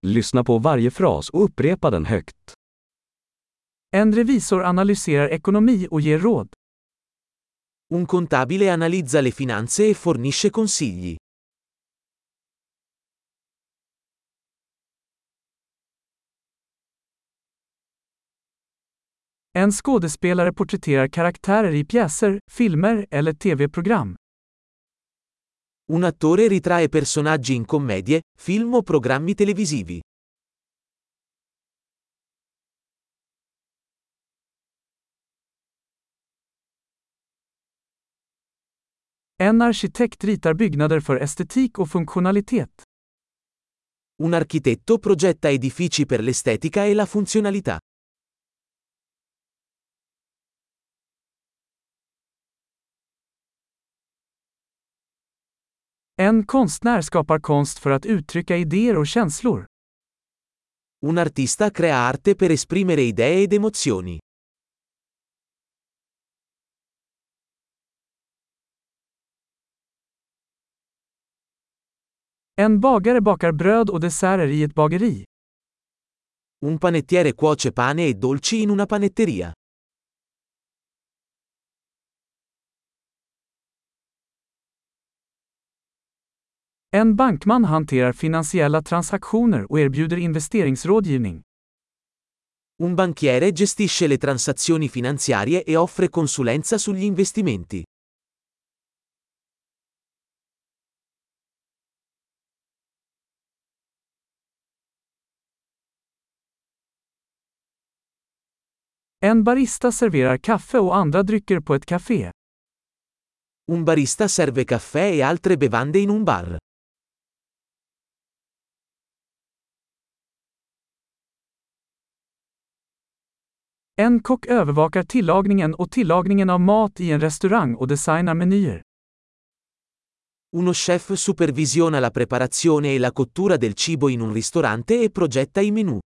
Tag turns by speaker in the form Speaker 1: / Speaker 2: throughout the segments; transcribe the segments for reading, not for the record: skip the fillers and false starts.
Speaker 1: Lyssna på varje fras och upprepa den högt.
Speaker 2: En revisor analyserar ekonomi och ger råd.
Speaker 3: Un contabile analizza le finanze e fornisce consigli.
Speaker 2: En skådespelare porträtterar karaktärer i pjäser, filmer eller tv-program.
Speaker 3: Un attore ritrae personaggi in commedie, film o programmi televisivi.
Speaker 2: En arkitekt ritar byggnader för estetik och funktionalitet.
Speaker 3: Un architetto progetta edifici per l'estetica e la funzionalità.
Speaker 2: En konstnär skapar konst för att uttrycka idéer och känslor.
Speaker 3: Un artista crea arte per esprimere idee ed emozioni.
Speaker 2: En bagare bakar bröd och desserter i ett bageri.
Speaker 3: Un panettiere cuoce pane e dolci in una panetteria.
Speaker 2: En bankman hanterar finansiella transaktioner och erbjuder investeringsrådgivning.
Speaker 3: Un banchiere gestisce le transazioni finanziarie e offre consulenza sugli investimenti.
Speaker 2: En barista serverar kaffe och andra drycker på ett café.
Speaker 3: Un barista serve caffè e altre bevande in un bar.
Speaker 2: En kock övervakar tillagningen av mat i en restaurang och designar menyer.
Speaker 3: Uno chef supervisiona la preparazione e la cottura del cibo in un ristorante e progetta i menù.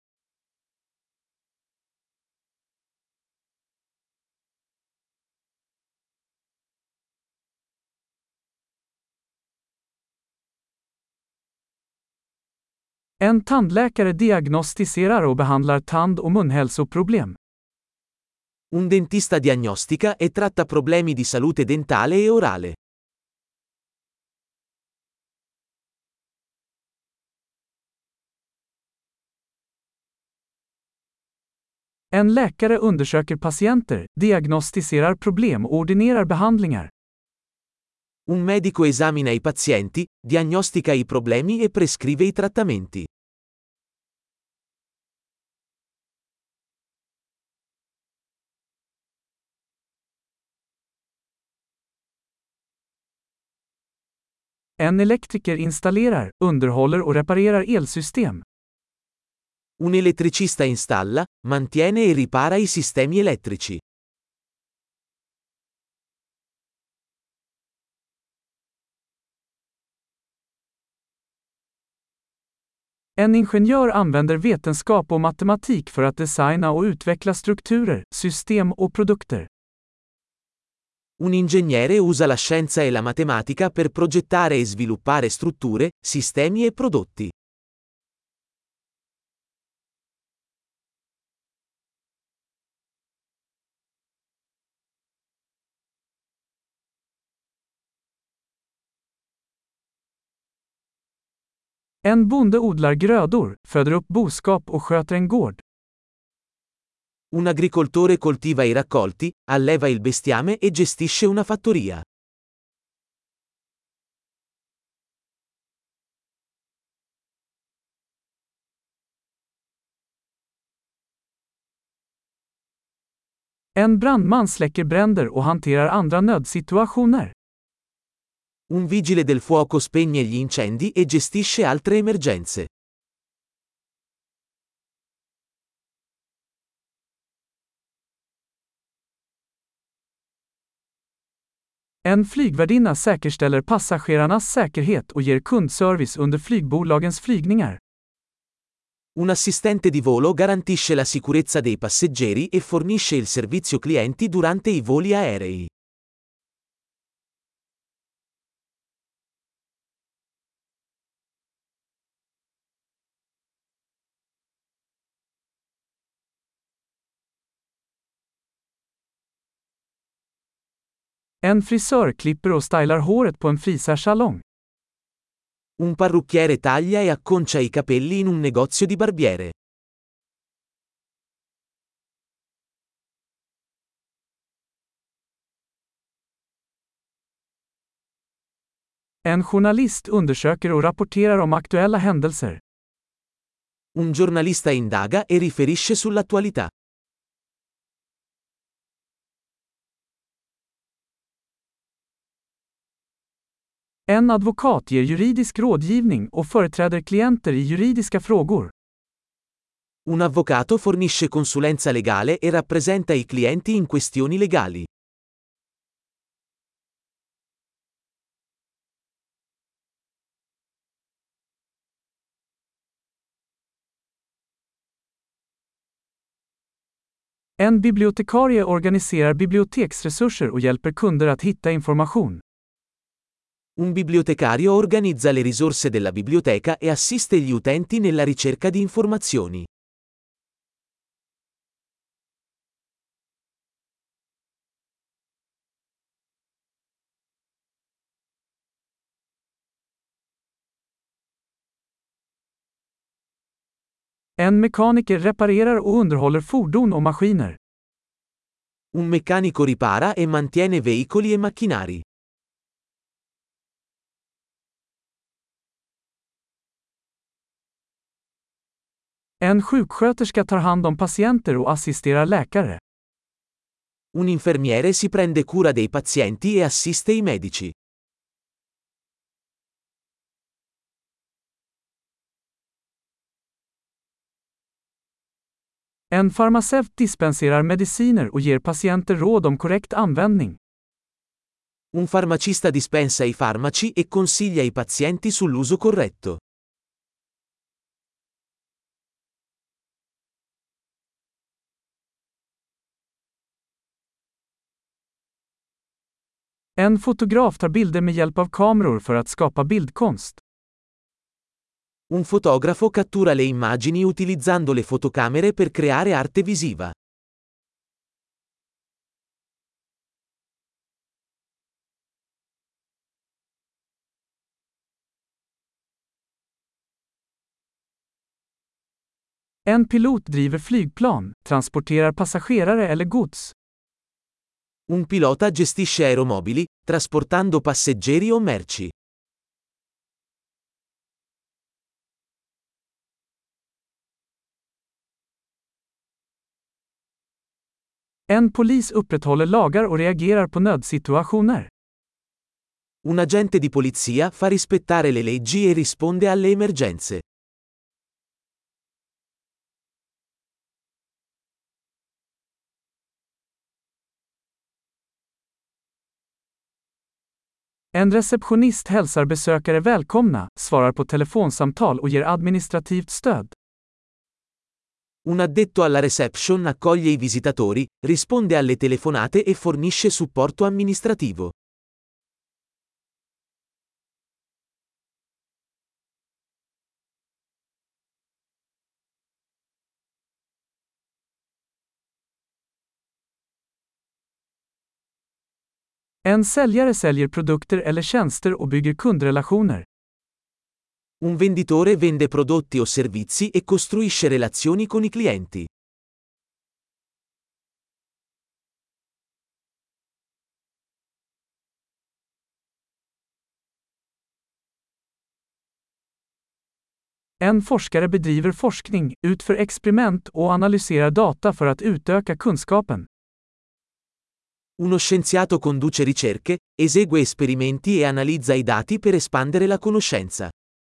Speaker 2: En tandläkare diagnostiserar och behandlar tand- och munhälsoproblem.
Speaker 3: Un dentista diagnostica e tratta problemi di salute dentale e orale.
Speaker 2: En läkare undersöker patienter, diagnostiserar problem och ordinerar behandlingar.
Speaker 3: Un medico esamina i pazienti, diagnostica i problemi e prescrive i trattamenti.
Speaker 2: En elektriker installerar, underhåller och reparerar elsystem.
Speaker 3: Un elettricista installa, mantiene e ripara i sistemi elettrici.
Speaker 2: En ingenjör använder vetenskap och matematik för att designa och utveckla strukturer, system och produkter.
Speaker 3: Un ingegnere usa la scienza e la matematica per progettare e sviluppare strutture, sistemi e prodotti.
Speaker 2: En bonde odlar grödor, föder upp boskap och sköter en gård.
Speaker 3: Un agricoltore coltiva i raccolti, alleva il bestiame e gestisce una fattoria.
Speaker 2: En brandman släcker bränder och hanterar andra nödsituationer.
Speaker 3: Un vigile del fuoco spegne gli incendi e gestisce altre emergenze.
Speaker 2: En flygvärdinna säkerställer passagerarnas säkerhet och ger kundservice under flygbolagens flygningar.
Speaker 3: Un assistente di volo garantisce la sicurezza dei passeggeri e fornisce il servizio clienti durante i voli aerei.
Speaker 2: En frisör klipper och stylar håret på en frisörsalong.
Speaker 3: Un parrucchiere taglia e acconcia i capelli in un negozio di barbiere.
Speaker 2: En journalist undersöker och rapporterar om aktuella händelser.
Speaker 3: Un giornalista indaga e riferisce sull'attualità.
Speaker 2: En advokat ger juridisk rådgivning och företräder klienter i juridiska frågor.
Speaker 3: Un avvocato fornisce consulenza legale e rappresenta i clienti in questioni legali.
Speaker 2: En bibliotekarie organiserar biblioteksresurser och hjälper kunder att hitta information.
Speaker 3: Un bibliotecario organizza le risorse della biblioteca e assiste gli utenti nella ricerca di informazioni.
Speaker 2: En mekaniker reparerar och underhåller fordon och maskiner.
Speaker 3: Un meccanico ripara e mantiene veicoli e macchinari.
Speaker 2: En sjuksköterska tar hand om patienter och assisterar läkare.
Speaker 3: Un infermiere si prende cura dei pazienti e assiste i medici.
Speaker 2: En farmaceut dispenserar mediciner och ger patienter råd om korrekt användning.
Speaker 3: Un farmacista dispensa i farmaci e consiglia i pazienti sull'uso corretto.
Speaker 2: En fotograf tar bilder med hjälp av kameror för att skapa bildkonst.
Speaker 3: Un fotografo cattura le immagini utilizzando le fotocamere per creare arte visiva.
Speaker 2: En pilot driver flygplan, transporterar passagerare eller gods.
Speaker 3: Un pilota gestisce aeromobili, trasportando passeggeri o merci.
Speaker 2: En polis upprätthåller lagar och reagerar på nödsituationer.
Speaker 3: Un agente di polizia fa rispettare le leggi e risponde alle emergenze.
Speaker 2: En receptionist hälsar besökare välkomna, svarar på telefonsamtal och ger administrativt stöd.
Speaker 3: Un addetto alla reception accoglie i visitatori, risponde alle telefonate e fornisce supporto amministrativo.
Speaker 2: En säljare säljer produkter eller tjänster och bygger kundrelationer.
Speaker 3: Un venditore vende prodotti o servizi e costruisce relazioni con i clienti.
Speaker 2: En forskare bedriver forskning, utför experiment och analyserar data för att utöka kunskapen.
Speaker 3: Uno scienziato conduce ricerche, esegue esperimenti e analizza i dati per espandere la conoscenza.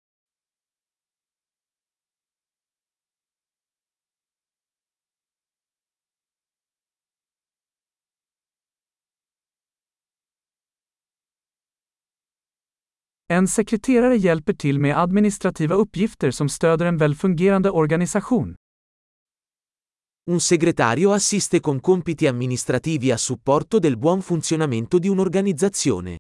Speaker 2: En sekreterare hjälper till med administrativa uppgifter som stöder en välfungerande organisation.
Speaker 3: Un segretario assiste con compiti amministrativi a supporto del buon funzionamento di un'organizzazione.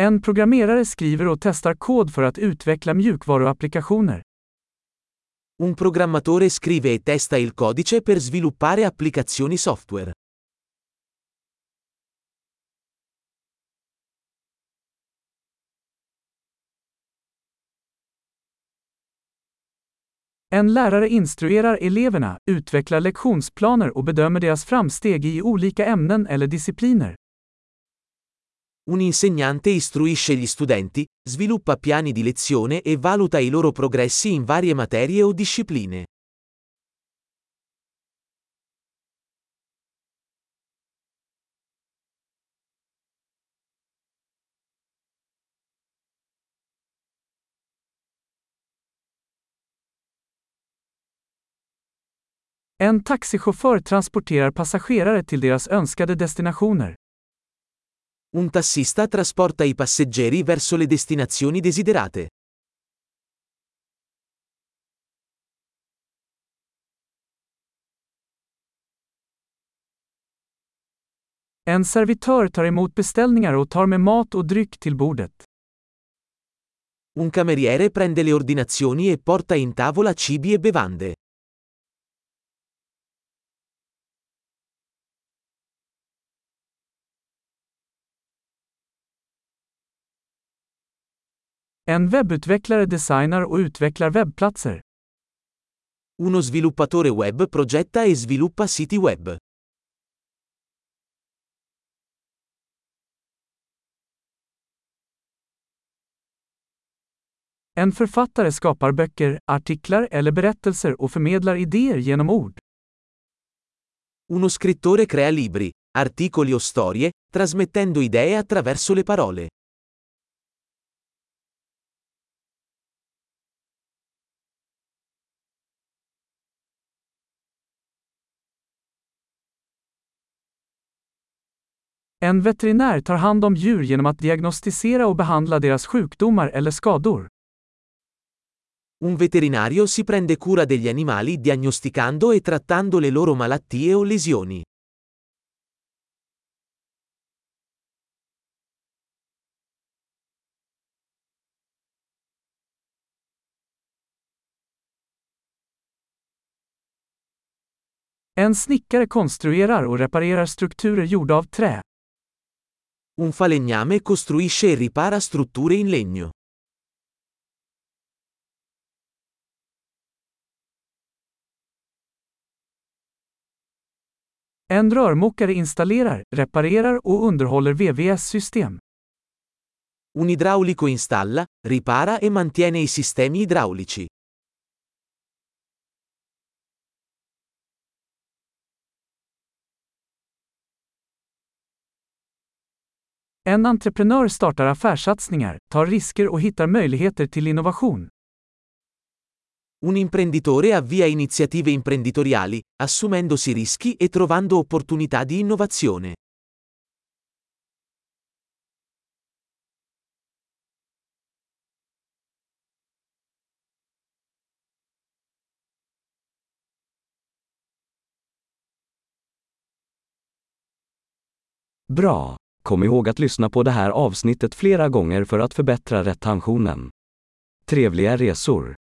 Speaker 2: En programmerare skriver och testar kod för att utveckla mjukvaruapplikationer.
Speaker 3: Un programmatore scrive e testa il codice per sviluppare applicazioni software.
Speaker 2: En lärare instruerar eleverna, utvecklar lektionsplaner och bedömer deras framsteg i olika ämnen eller discipliner.
Speaker 3: Un insegnante istruisce gli studenti, sviluppa piani di lezione e valuta i loro progressi in varie materie o discipline.
Speaker 2: En taxichaufför transporterar passagerare till deras önskade destinationer.
Speaker 3: Un tassista trasporta i passeggeri verso le destinazioni desiderate.
Speaker 2: En servitör tar emot beställningar och tar med mat och dryck till bordet.
Speaker 3: Un cameriere prende le ordinazioni e porta in tavola cibi e bevande.
Speaker 2: En webbutvecklare designar och utvecklar webbplatser.
Speaker 3: Uno sviluppatore web progetta e sviluppa siti web.
Speaker 2: En författare skapar böcker, artiklar eller berättelser och förmedlar idéer genom ord.
Speaker 3: Uno scrittore crea libri, articoli o storie, trasmettendo idee attraverso le parole.
Speaker 2: En veterinär tar hand om djur genom att diagnostisera och behandla deras sjukdomar eller skador.
Speaker 3: Un veterinario si prende cura degli animali diagnosticando e trattando le loro malattie o lesioni.
Speaker 2: En snickare konstruerar och reparerar strukturer gjorda av trä.
Speaker 3: Un falegname costruisce e ripara strutture in legno.
Speaker 2: En rörmokare installerar, reparerar och underhåller VVS-system.
Speaker 3: Un idraulico installa, ripara e mantiene i sistemi idraulici.
Speaker 2: En entreprenör startar affärssatsningar, tar risker och hittar möjligheter till innovation.
Speaker 3: Un imprenditore avvia iniziative imprenditoriali, assumendosi rischi e trovando opportunità di innovazione.
Speaker 1: Bra! Kom ihåg att lyssna på det här avsnittet flera gånger för att förbättra retentionen. Trevliga resor!